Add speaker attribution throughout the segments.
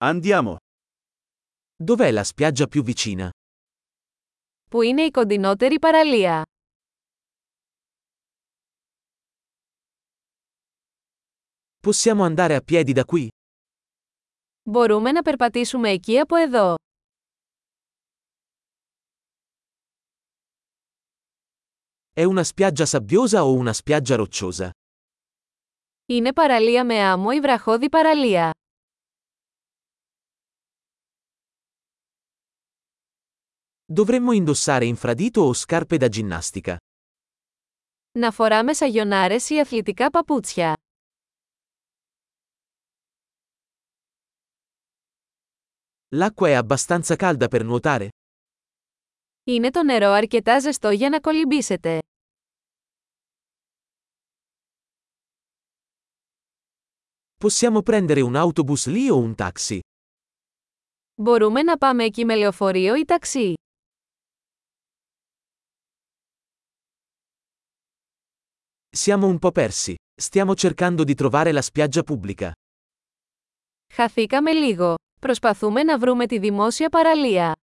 Speaker 1: Andiamo.
Speaker 2: Dov'è la spiaggia più vicina?
Speaker 3: Πού είναι η κοντινότερη παραλία?
Speaker 2: Possiamo andare a piedi da qui?
Speaker 3: Μπορούμε να περπατήσουμε εκεί από εδώ.
Speaker 2: È una spiaggia sabbiosa o una spiaggia rocciosa?
Speaker 3: Είναι παραλία με άμμο ή βραχώδη παραλία?
Speaker 2: Dovremmo indossare infradito o scarpe da ginnastica?
Speaker 3: Να φοράμε σαγιονάρες ή αθλητικά παπούτσια?
Speaker 2: L'acqua è abbastanza calda per nuotare?
Speaker 3: Είναι το νερό αρκετά ζεστό για να κολυμπήσετε?
Speaker 2: Possiamo prendere un autobus lì o un taxi?
Speaker 3: Μπορούμε να πάμε εκεί με λεωφορείο ή ταξί?
Speaker 2: Siamo un po' persi. Stiamo cercando di trovare la spiaggia pubblica.
Speaker 3: Χαθήκαμε λίγο. Προσπαθούμε να βρούμε τη δημόσια παραλία.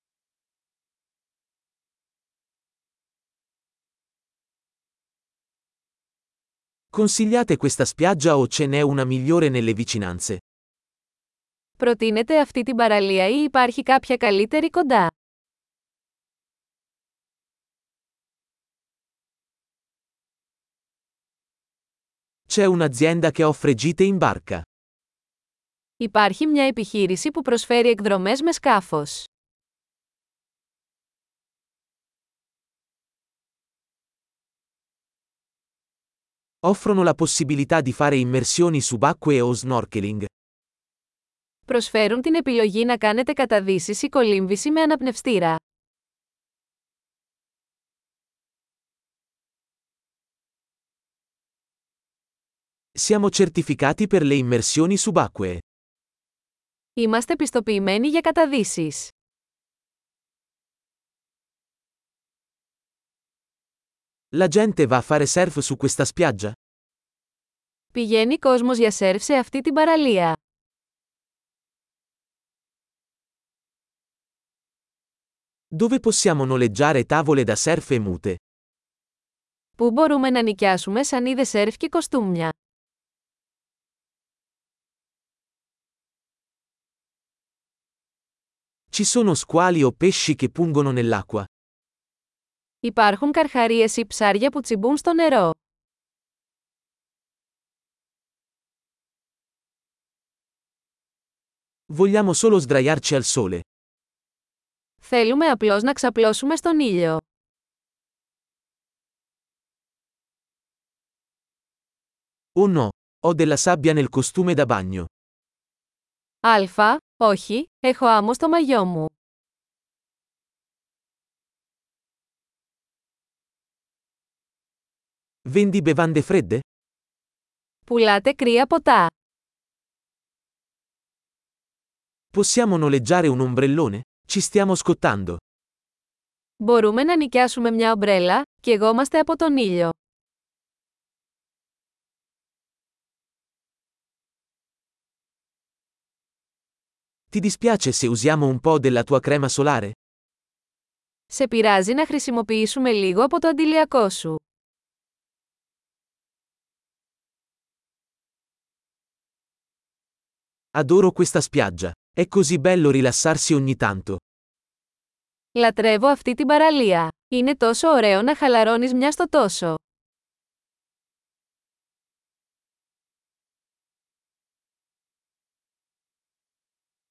Speaker 2: Consigliate questa spiaggia o ce n'è una migliore nelle vicinanze?
Speaker 3: Προτείνετε αυτή την παραλία ή υπάρχει κάποια καλύτερη κοντά?
Speaker 2: C'è un'azienda che offre gite in barca.
Speaker 3: Υπάρχει μια επιχείρηση που προσφέρει εκδρομές με σκάφος.
Speaker 2: Offrono la possibilità di fare immersioni subacquee o snorkeling.
Speaker 3: Προσφέρουν την επιλογή να κάνετε καταδύσεις ή κολύμβηση με αναπνευστήρα.
Speaker 2: Siamo certificati per le immersioni subacquee.
Speaker 3: Είμαστε πιστοποιημένοι για καταδύσεις.
Speaker 2: La gente va a fare surf su questa spiaggia?
Speaker 3: Πηγαίνει κόσμος για σερφ σε αυτή την παραλία.
Speaker 2: Dove possiamo noleggiare tavole da surf e mute?
Speaker 3: Πού μπορούμε να νοικιάσουμε σανίδες σερφ και κοστούμια?
Speaker 2: Ci sono squali o pesci che pungono nell'acqua?
Speaker 3: Υπάρχουν καρχαρίες ή ψάρια που τσιμπούν στο νερό.
Speaker 2: Vogliamo solo sdraiarci al sole.
Speaker 3: Θέλουμε απλώς να ξαπλώσουμε στον ήλιο.
Speaker 2: Oh no, ho della sabbia nel costume da bagno.
Speaker 3: Αλφα, όχι, έχω άμμο στο μαγιό μου.
Speaker 2: Vendi bevande fredde?
Speaker 3: Πουλάτε κρύα ποτά.
Speaker 2: Possiamo noleggiare un ombrellone? Ci stiamo scottando.
Speaker 3: Μπορούμε να νοικιάσουμε μια ομπρέλα, καιγόμαστε από τον ήλιο.
Speaker 2: Ti dispiace se usiamo un po' della tua crema solare?
Speaker 3: Σε πειράζει να χρησιμοποιήσουμε λίγο από το αντιλιακό σου?
Speaker 2: Adoro questa spiaggia. È così bello rilassarsi ogni tanto.
Speaker 3: Λατρεύω αυτή την παραλία. Είναι τόσο ωραίο να χαλαρώνεις μια στο τόσο.